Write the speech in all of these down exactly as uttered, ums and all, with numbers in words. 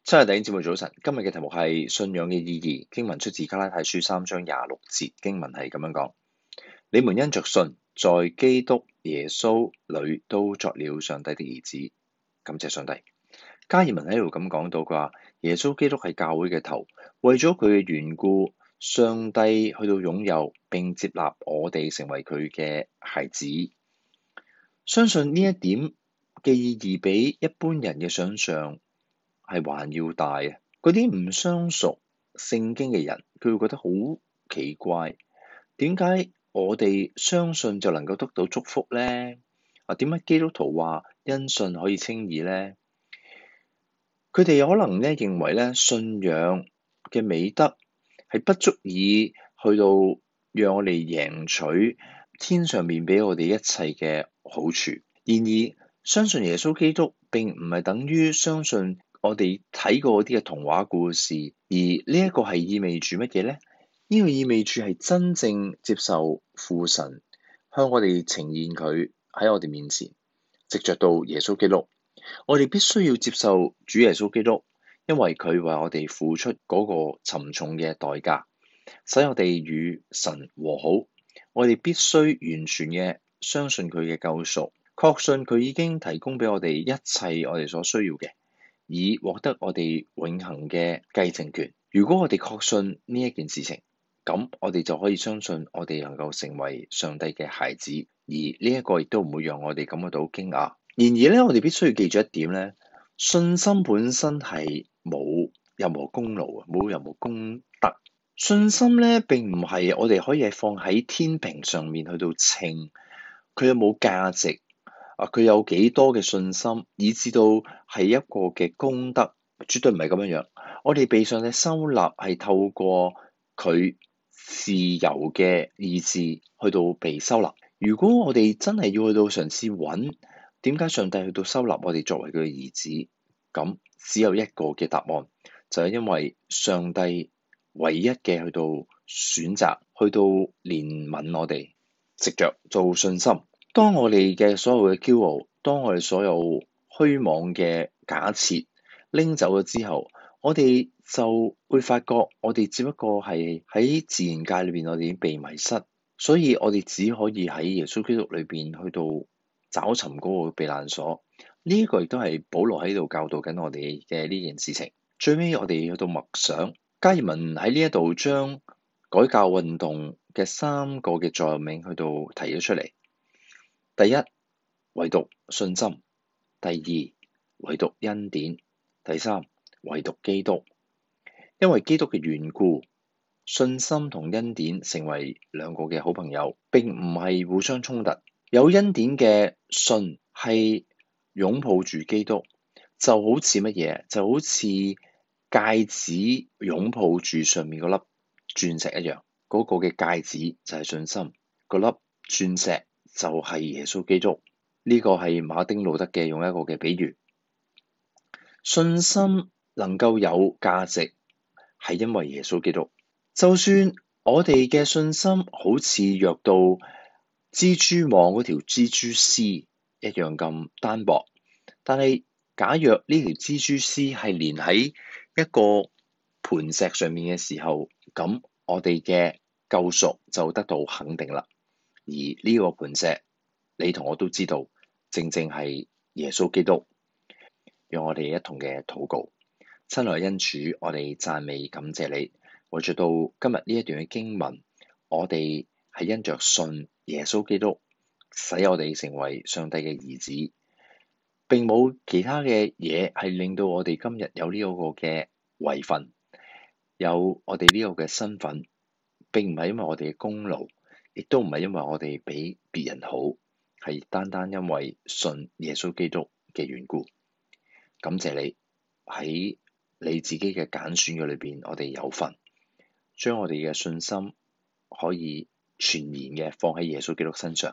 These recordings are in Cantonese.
親愛的弟兄姊妹早晨，今日嘅題目係信仰嘅意義。經文出自加拉太書三章廿六節，經文係咁樣講：你們因着信，在基督耶穌裏都作了上帝的兒子。感謝上帝。加爾文喺度咁講到，佢話耶穌基督係教會嘅頭，為咗佢嘅緣故，上帝去到擁有並接納我哋成為佢嘅孩子。相信呢一點嘅意義比一般人嘅想象係還要大啊！嗰啲唔相熟聖經嘅人，佢會覺得好奇怪，點解我哋相信就能夠得到祝福呢？啊，點解基督徒話因信可以稱義呢？佢哋可能咧認為咧信仰嘅美德係不足以去到讓我哋贏取天上面俾我哋一切嘅好處。然而，相信耶穌基督並唔係等於相信我哋睇過啲嘅童話故事，而呢一個係意味住乜嘢呢？呢個意味住係真正接受父神向我哋呈現佢喺我哋面前，藉著到耶穌基督，我哋必須要接受主耶穌基督，因為佢為我哋付出嗰個沉重嘅代價，使我哋與神和好。我哋必須完全嘅相信佢嘅救贖，確信佢已經提供俾我哋一切我哋所需要嘅，以獲得我哋永恆嘅繼承權。如果我哋確信呢一件事情，咁我哋就可以相信我哋能夠成為上帝嘅孩子，而呢一個亦都唔會讓我哋感覺到驚訝。然而咧，我哋必須要記住一點咧，信心本身係冇任何功勞啊，冇任何功德。信心咧並唔係我哋可以係放喺天平上面去到稱佢有冇價值啊，佢有幾多嘅信心，以至到係一個嘅功德，絕對唔係咁樣樣。我哋被上帝收納係透過佢自由嘅意志去到被收納。如果我哋真係要去到嘗試揾點解上帝去到收納我哋作為佢嘅兒子，咁只有一個嘅答案，就係因為上帝唯一嘅去到選擇，去到憐憫我哋，藉著做信心。當我哋嘅所有嘅驕傲，當我哋所有虛妄嘅假設拎走咗之後，我哋就會發覺，我哋只不過係喺自然界裏邊，我哋已經被迷失，所以我哋只可以喺耶穌基督裏邊去到找尋嗰個避難所。呢一個亦都係保羅喺度教導緊我哋嘅呢件事情。最尾我哋去到默想，加爾文喺呢一度將改教運動嘅三個嘅座右銘去到提咗出嚟。第一，唯獨信心；第二，唯獨恩典；第三，唯獨基督。因為基督嘅緣故，信心同恩典成為兩個嘅好朋友，並唔係互相衝突。有恩典嘅信係擁抱住基督，就好似乜嘢？就好似戒指擁抱住上面嗰粒鑽石一樣。嗰、那個嘅戒指就係信心，嗰粒鑽石就係耶穌基督。呢、這個係馬丁路德嘅用一個嘅比喻。信心能夠有價值，係因為耶穌基督。就算我哋嘅信心好似弱到蜘蛛網嗰條蜘蛛絲一樣咁單薄，但係假若呢條蜘蛛絲係連喺一個磐石上面嘅時候，咁我哋嘅救贖就得到肯定啦。而呢個磐石，你同我都知道，正正係耶穌基督。讓我哋一同嘅禱告。親愛恩主，我哋讚美感謝你，為著到今日呢一段嘅經文，我哋係因着信耶穌基督，使我哋成為上帝嘅兒子，並冇其他嘅嘢係令到我哋今日有呢個嘅位份，有我哋呢個嘅身份，並唔係因為我哋嘅功勞，亦都唔係因為我哋比別人好，係單單因為信耶穌基督嘅緣故。感謝你喺你自己嘅揀選嘅裏邊，我哋有份將我哋嘅信心可以全然嘅放喺耶穌基督身上，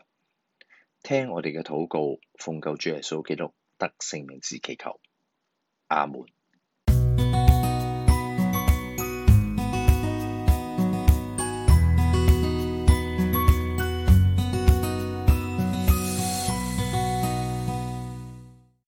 聽我哋嘅禱告，奉救主耶穌基督得聖名之祈求，阿門。